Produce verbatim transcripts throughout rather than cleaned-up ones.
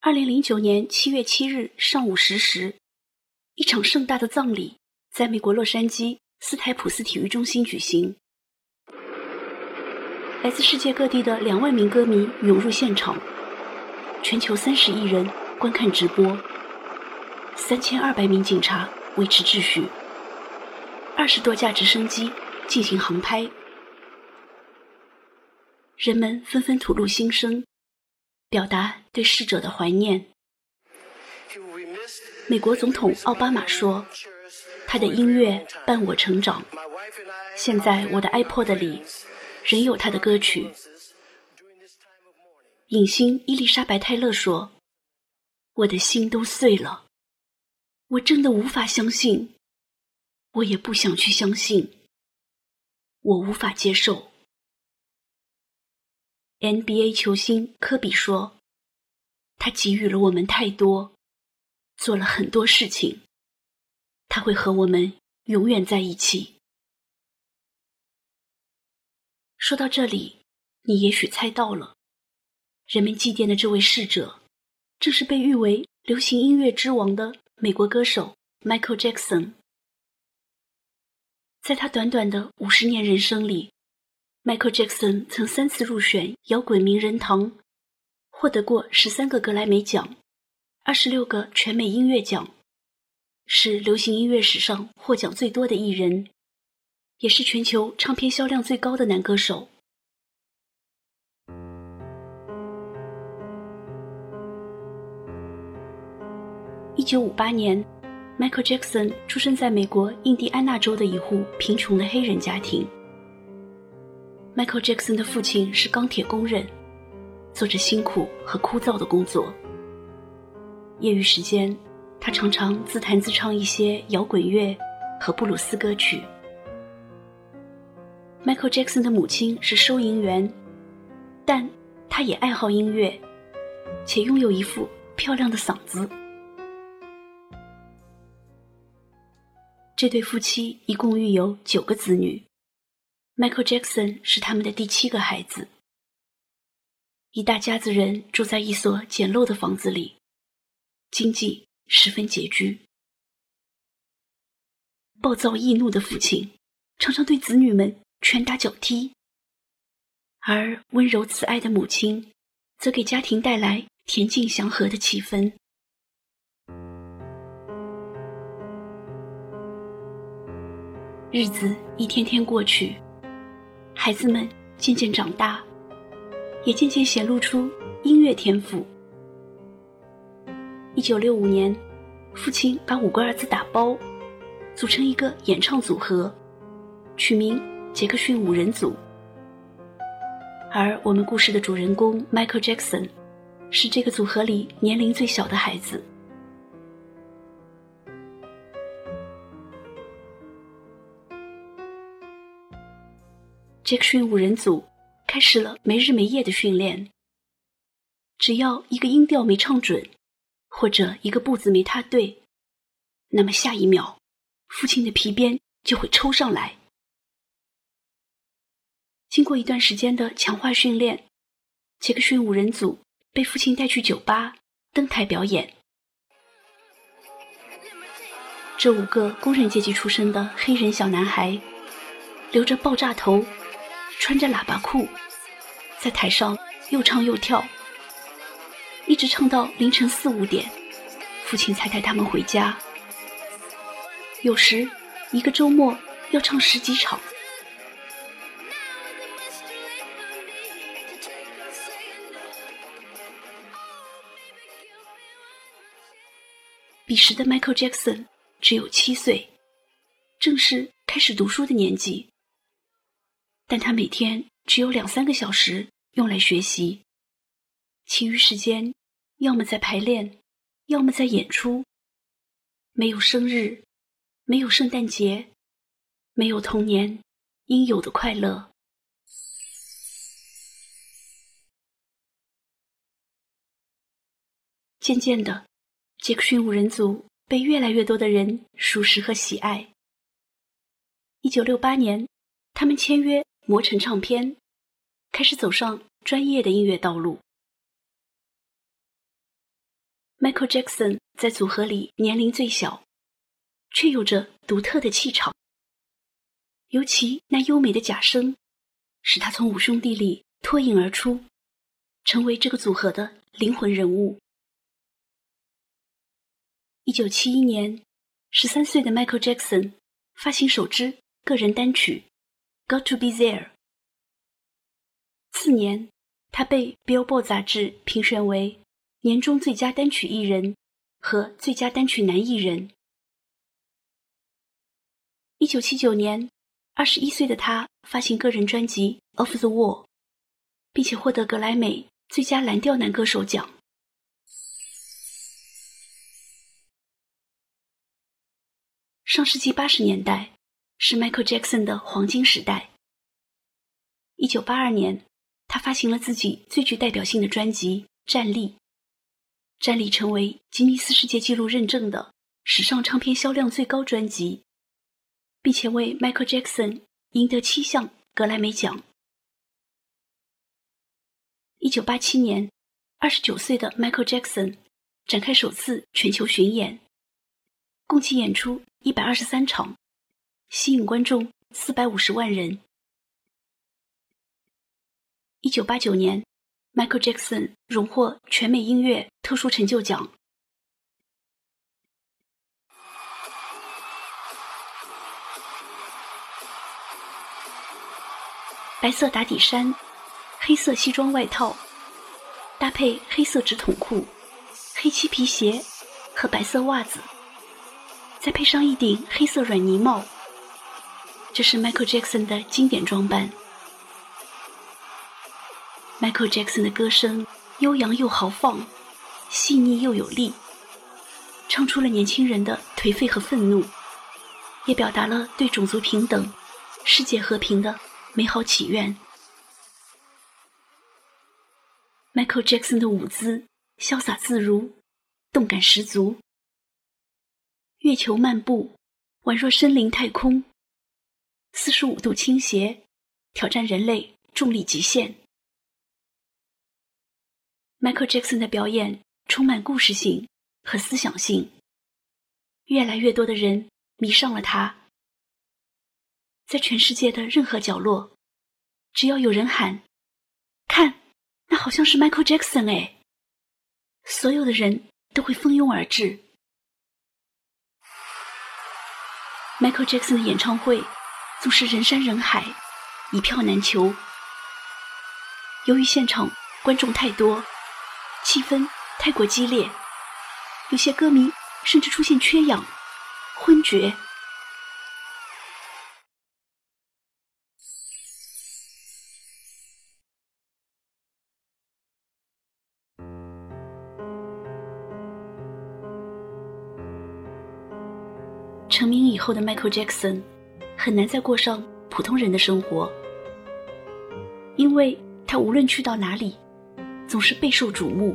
二零零九年七月七日上午十时，一场盛大的葬礼在美国洛杉矶斯台普斯体育中心举行。来自世界各地的两万名歌迷涌入现场，全球三十亿人观看直播，三千二百名警察维持秩序，二十多架直升机进行航拍。人们纷纷吐露心声，表达对逝者的怀念。美国总统奥巴马说，他的音乐伴我成长，现在我的 iPod 里仍有他的歌曲。影星伊丽莎白泰勒说，我的心都碎了，我真的无法相信，我也不想去相信，我无法接受。N B A 球星科比说，他给予了我们太多，做了很多事情，他会和我们永远在一起。说到这里，你也许猜到了，人们祭奠的这位逝者，正是被誉为流行音乐之王的美国歌手 Michael Jackson。在他短短的五十年人生里， Michael Jackson 曾三次入选摇滚名人堂，获得过十三个格莱美奖，二十六个全美音乐奖，是流行音乐史上获奖最多的艺人，也是全球唱片销量最高的男歌手。一九五八年 Michael Jackson 出生在美国印第安纳州的一户贫穷的黑人家庭。Michael Jackson 的父亲是钢铁工人，做着辛苦和枯燥的工作。业余时间，他常常自弹自唱一些摇滚乐和布鲁斯歌曲。Michael Jackson 的母亲是收银员，但他也爱好音乐，且拥有一副漂亮的嗓子。这对夫妻一共育有九个子女， Michael Jackson 是他们的第七个孩子。一大家子人住在一所简陋的房子里，经济十分拮据。暴躁易怒的父亲常常对子女们拳打脚踢，而温柔慈爱的母亲则给家庭带来恬静祥和的气氛。日子一天天过去，孩子们渐渐长大，也渐渐显露出音乐天赋。一九六五年，父亲把五个儿子打包，组成一个演唱组合，取名杰克逊五人组。而我们故事的主人公 Michael Jackson 是这个组合里年龄最小的孩子。杰克逊五人组开始了没日没夜的训练，只要一个音调没唱准，或者一个步子没踏对，那么下一秒父亲的皮鞭就会抽上来。经过一段时间的强化训练，杰克逊五人组被父亲带去酒吧登台表演。这五个工人阶级出身的黑人小男孩，留着爆炸头，穿着喇叭裤，在台上又唱又跳，一直唱到凌晨四五点，父亲才带他们回家。有时一个周末要唱十几场。彼时的 Michael Jackson 只有七岁，正是开始读书的年纪，但他每天只有两三个小时用来学习，其余时间要么在排练，要么在演出。没有生日，没有圣诞节，没有童年应有的快乐。渐渐的，杰克逊五人组被越来越多的人熟识和喜爱。一九六八年，他们签约魔城唱片，开始走上专业的音乐道路。 Michael Jackson 在组合里年龄最小，却有着独特的气场。尤其那优美的假声，使他从五兄弟里脱颖而出，成为这个组合的灵魂人物。一九七一年，十三岁的 Michael Jackson 发行首支个人单曲《Got to Be There》。次年，他被 Billboard 杂志评选为年终最佳单曲艺人和最佳单曲男艺人。一九七九年，二十一岁的他发行个人专辑《Off the Wall》，并且获得格莱美最佳蓝调男歌手奖。上世纪八十年代是 Michael Jackson 的黄金时代。一九八二年，他发行了自己最具代表性的专辑《站立》，站立成为吉尼斯世界纪录认证的史上唱片销量最高专辑，并且为 Michael Jackson 赢得七项格莱美奖。一九八七年，二十九岁的 Michael Jackson 展开首次全球巡演，共计演出一百二十三场，吸引观众四百五十万人。一九八九年， Michael Jackson 荣获全美音乐特殊成就奖。白色打底衫，黑色西装外套，搭配黑色直筒裤、黑漆皮鞋和白色袜子，再配上一顶黑色软呢帽，这是 Michael Jackson 的经典装扮。Michael Jackson 的歌声悠扬又豪放，细腻又有力，唱出了年轻人的颓废和愤怒，也表达了对种族平等、世界和平的美好祈愿。Michael Jackson 的舞姿潇洒自如，动感十足，月球漫步宛若身临太空，四十五度倾斜，挑战人类重力极限。Michael Jackson 的表演充满故事性和思想性，越来越多的人迷上了他。在全世界的任何角落，只要有人喊，看，那好像是 Michael Jackson 哎，所有的人都会蜂拥而至。Michael Jackson 的演唱会总是人山人海，一票难求。由于现场观众太多，气氛太过激烈，有些歌迷甚至出现缺氧、昏厥。成名以后的 Michael Jackson 很难再过上普通人的生活，因为他无论去到哪里总是备受瞩目。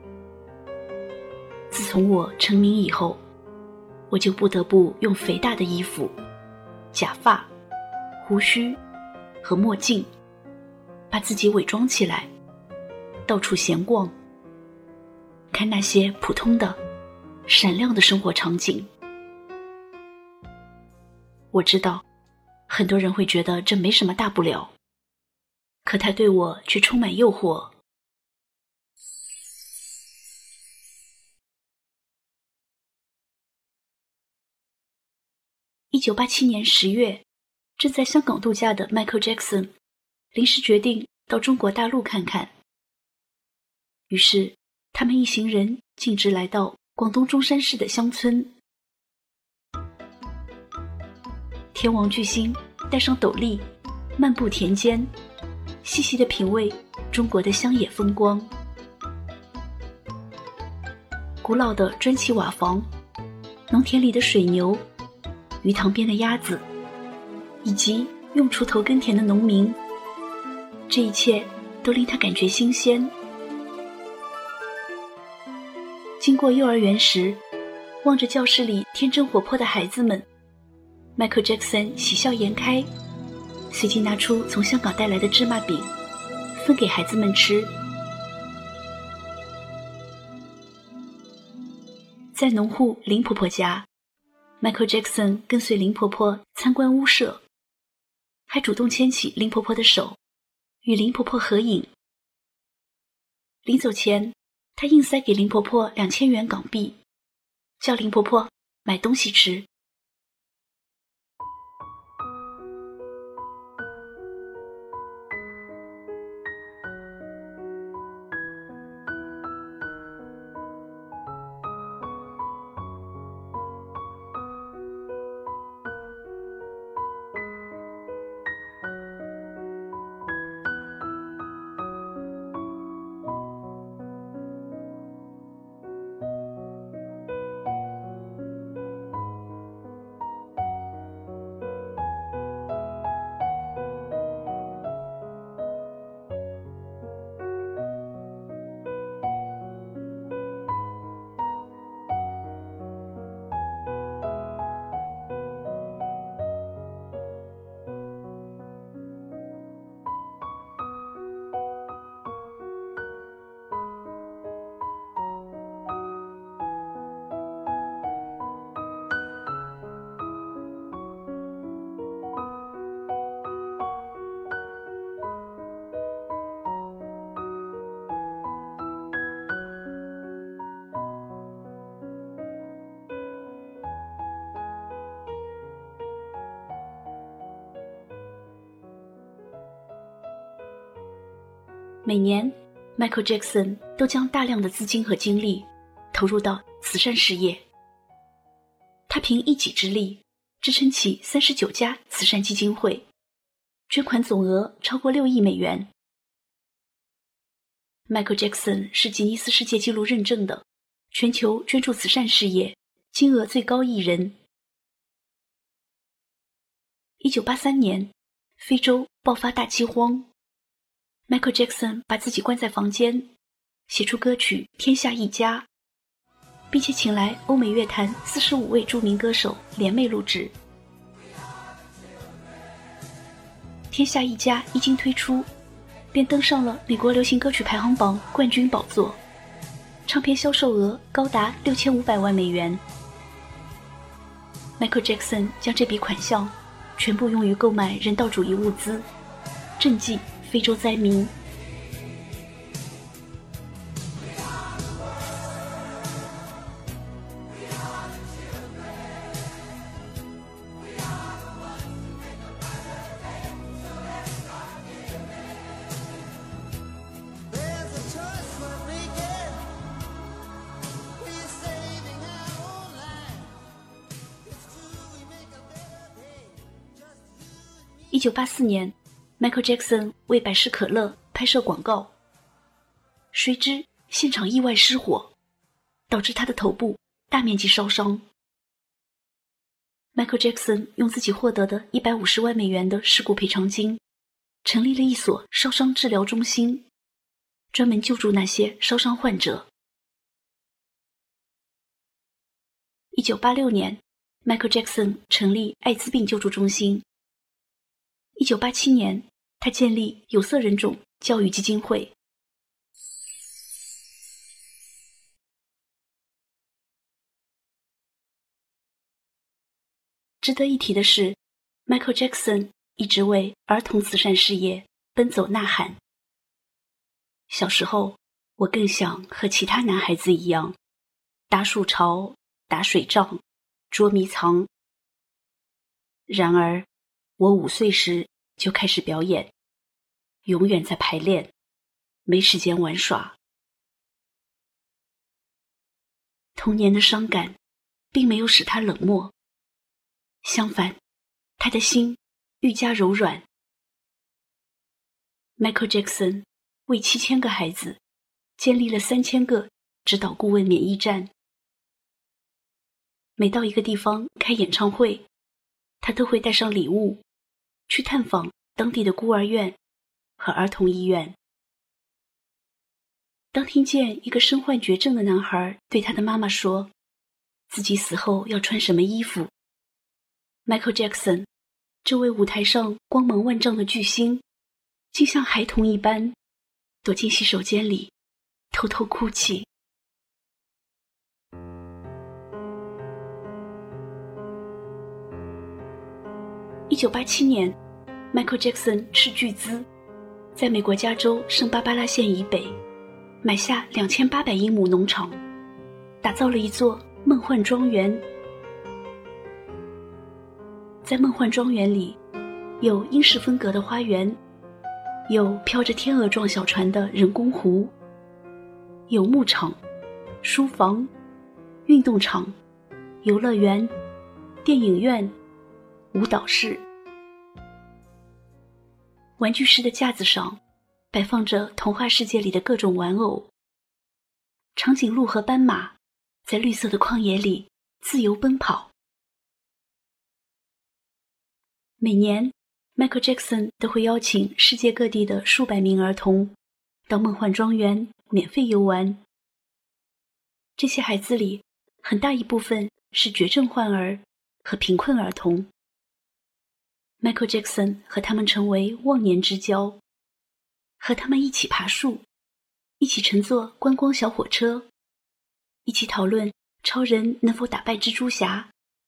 自从我成名以后，我就不得不用肥大的衣服、假发、胡须和墨镜把自己伪装起来，到处闲逛，看那些普通的闪亮的生活场景。我知道很多人会觉得这没什么大不了，可它对我却充满诱惑。一九八七年十月，正在香港度假的 Michael Jackson 临时决定到中国大陆看看。于是他们一行人径直来到广东中山市的乡村。天王巨星戴上斗笠，漫步田间，细细地品味中国的乡野风光。古老的砖砌瓦房，农田里的水牛，鱼塘边的鸭子，以及用锄头耕田的农民，这一切都令他感觉新鲜。经过幼儿园时，望着教室里天真活泼的孩子们， Michael Jackson 喜笑颜开，随即拿出从香港带来的芝麻饼分给孩子们吃。 在农户林婆婆家， Michael Jackson 跟随林婆婆参观屋舍，还主动牵起林婆婆的手，与林婆婆合影。临走前，他硬塞给林婆婆两千元港币，叫林婆婆买东西吃。每年 Michael Jackson 都将大量的资金和精力投入到慈善事业。他凭一己之力支撑起三十九家慈善基金会，捐款总额超过六亿美元。Michael Jackson 是吉尼斯世界纪录认证的全球捐助慈善事业金额最高艺人。一九八三年，非洲爆发大饥荒， Michael Jackson 把自己关在房间，写出歌曲《天下一家》，并且请来欧美乐坛四十五位著名歌手联袂录制。《天下一家》一经推出，便登上了美国流行歌曲排行榜冠军宝座，唱片销售额高达六千五百万美元。Michael Jackson 将这笔款项全部用于购买人道主义物资，赈济非洲灾民。一九八四年 Michael Jackson 为百事可乐拍摄广告，谁知现场意外失火，导致他的头部大面积烧伤。Michael Jackson 用自己获得的一百五十万美元的事故赔偿金，成立了一所烧伤治疗中心，专门救助那些烧伤患者。一九八六年 Michael Jackson 成立艾滋病救助中心。一九八七年，他建立有色人种教育基金会。值得一提的是， Michael Jackson 一直为儿童慈善事业奔走呐喊。小时候，我更想和其他男孩子一样，搭树巢、打水仗、捉迷藏。然而，我五岁时就开始表演，永远在排练，没时间玩耍。童年的伤感并没有使他冷漠，相反，他的心愈加柔软。Michael Jackson 为七千个孩子建立了三千个指导顾问免疫站。每到一个地方开演唱会，他都会带上礼物，去探访当地的孤儿院和儿童医院。当听见一个身患绝症的男孩对他的妈妈说自己死后要穿什么衣服， Michael Jackson 这位舞台上光芒万丈的巨星，竟像孩童一般躲进洗手间里偷偷哭泣。 一九八七年 Michael Jackson 斥巨资在美国加州圣巴巴拉县以北买下两千八百英亩农场，打造了一座梦幻庄园。在梦幻庄园里，有英式风格的花园，有飘着天鹅状小船的人工湖，有牧场、书房、运动场、游乐园、电影院、舞蹈室。玩具室的架子上摆放着童话世界里的各种玩偶，长颈鹿和斑马在绿色的旷野里自由奔跑。每年 Michael Jackson 都会邀请世界各地的数百名儿童到梦幻庄园免费游玩。这些孩子里很大一部分是绝症患儿和贫困儿童。Michael Jackson 和他们成为忘年之交，和他们一起爬树，一起乘坐观光小火车，一起讨论超人能否打败蜘蛛侠。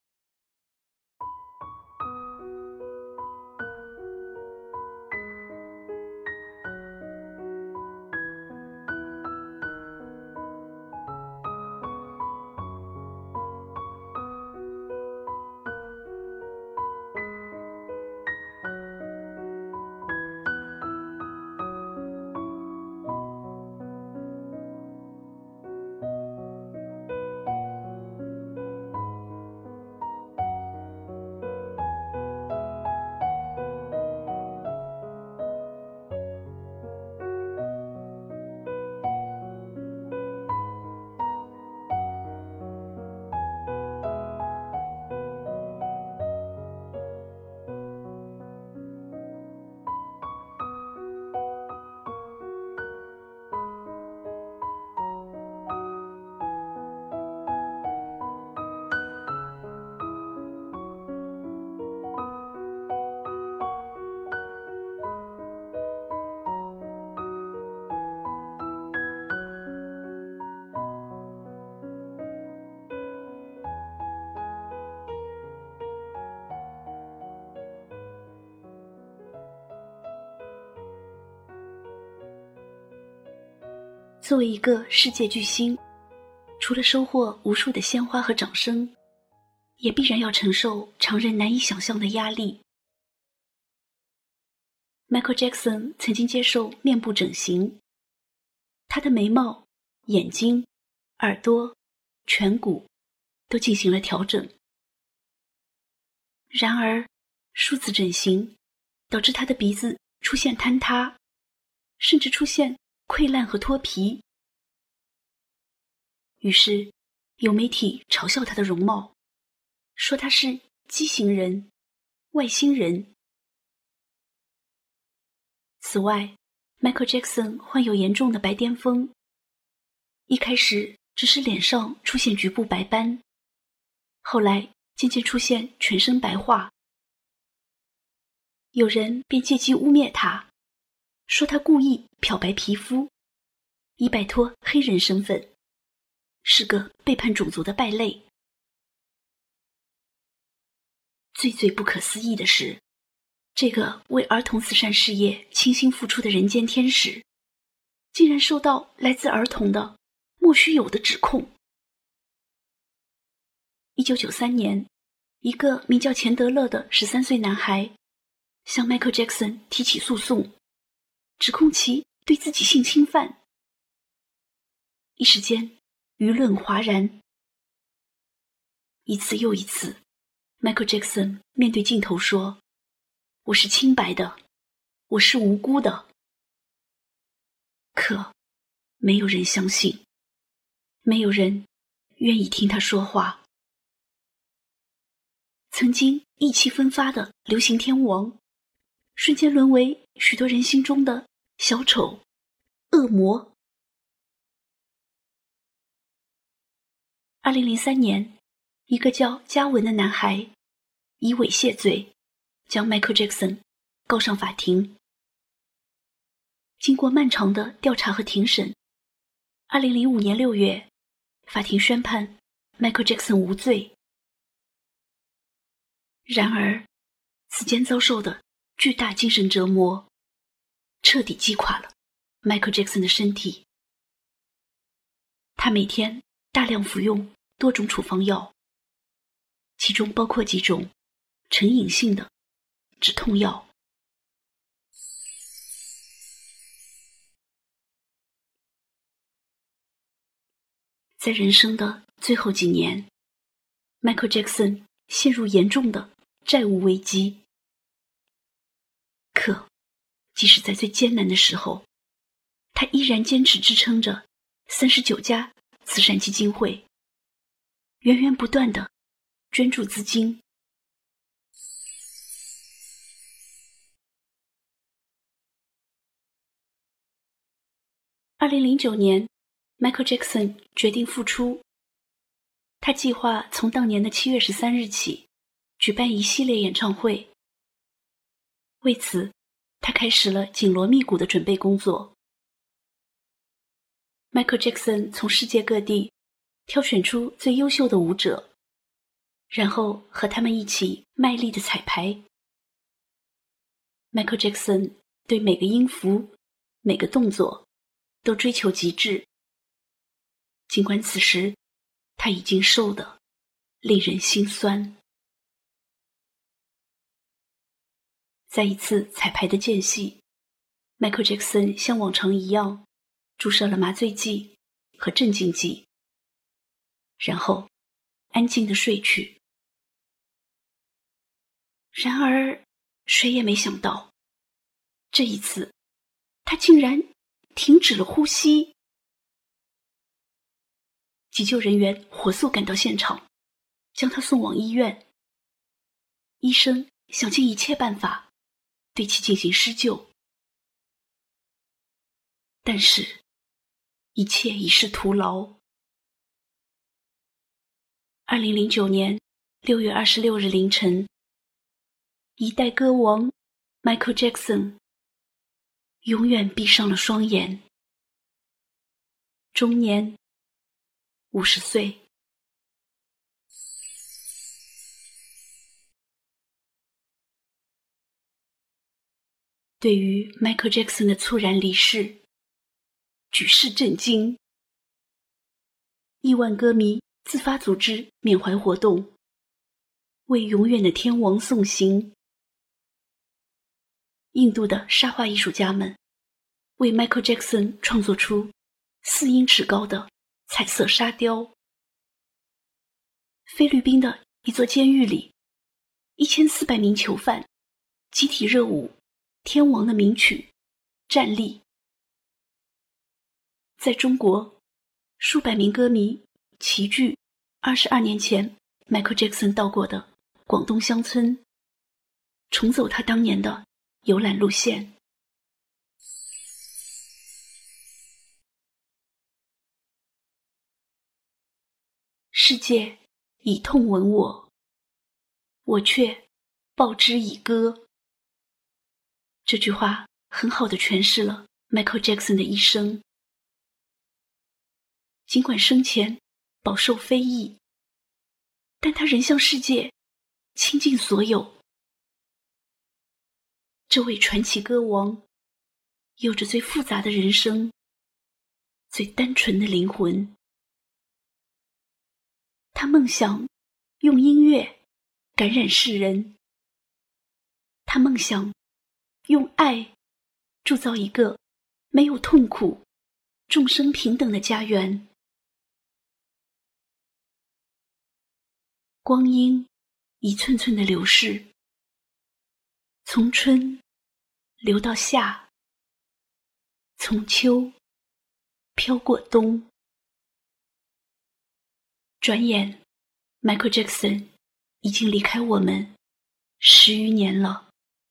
作为一个世界巨星，除了收获无数的鲜花和掌声，也必然要承受常人难以想象的压力。Michael Jackson 曾经接受面部整形，他的眉毛、眼睛、耳朵、颧骨都进行了调整。然而，数次整形导致他的鼻子出现坍塌，甚至出现溃烂和脱皮。于是有媒体嘲笑他的容貌，说他是畸形人、外星人。此外， Michael Jackson 患有严重的白癜风，一开始只是脸上出现局部白斑，后来渐渐出现全身白化。有人便借机污蔑他，说他故意漂白皮肤，以摆脱黑人身份，是个背叛种族的败类。最最不可思议的是，这个为儿童慈善事业倾心付出的人间天使，竟然受到来自儿童的莫须有的指控。一九九三年，一个名叫钱德勒的十三岁男孩向 Michael Jackson 提起诉讼，指控其对自己性侵犯。一时间舆论哗然。一次又一次， Michael Jackson 面对镜头说，我是清白的，我是无辜的。可没有人相信，没有人愿意听他说话。曾经意气风发的流行天王，瞬间沦为许多人心中的小丑、恶魔。二零零三年，一个叫嘉文的男孩以猥亵罪将 Michael Jackson 告上法庭。经过漫长的调查和庭审，二零零五年六月，法庭宣判 Michael Jackson 无罪。然而， 此间遭受的巨大精神折磨，彻底击垮了 Michael Jackson 的身体。他每天大量服用多种处方药，其中包括几种成瘾性的止痛药。在人生的最后几年， Michael Jackson 陷入严重的债务危机。可即使在最艰难的时候，他依然坚持支撑着三十九家慈善基金会，源源不断地捐助资金。二零零九年 Michael Jackson 决定复出，他计划从当年的七月十三日起举办一系列演唱会。为此，他开始了紧锣密鼓的准备工作。Michael Jackson 从世界各地挑选出最优秀的舞者，然后和他们一起卖力的彩排。Michael Jackson 对每个音符、每个动作都追求极致，尽管此时他已经瘦得令人心酸。在一次彩排的间隙， Michael Jackson 像往常一样注射了麻醉剂和镇静剂，然后安静地睡去。然而谁也没想到，这一次他竟然停止了呼吸。急救人员火速赶到现场，将他送往医院。医生想尽一切办法对其进行施救，但是一切已是徒劳。二零零九年六月二十六日凌晨，一代歌王 Michael Jackson 永远闭上了双眼，终年五十岁。对于 Michael Jackson 的猝然离世，举世震惊。亿万歌迷自发组织缅怀活动，为永远的天王送行。印度的沙画艺术家们为 Michael Jackson 创作出四英尺高的彩色沙雕。菲律宾的一座监狱里，一千四百名囚犯集体热舞天王的名曲《站立》。在中国，数百名歌迷齐聚二十二年前 Michael Jackson 到过的广东乡村，重走他当年的游览路线。世界以痛吻我，我却报之以歌。这句话很好地诠释了 Michael Jackson 的一生。尽管生前饱受非议，但他仍向世界倾尽所有。这位传奇歌王有着最复杂的人生，最单纯的灵魂。他梦想用音乐感染世人，他梦想用爱铸造一个没有痛苦、众生平等的家园。光阴一寸寸的流逝，从春流到夏，从秋飘过冬。转眼 Michael Jackson 已经离开我们十余年了。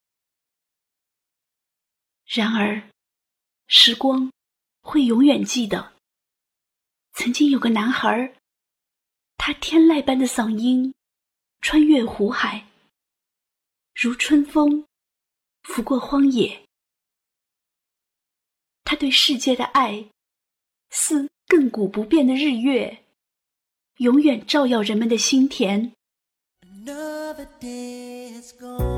然而时光会永远记得，曾经有个男孩，他天籁般的嗓音穿越湖海，如春风拂过荒野。他对世界的爱似亘古不变的日月，永远照耀人们的心田。Another day is gone.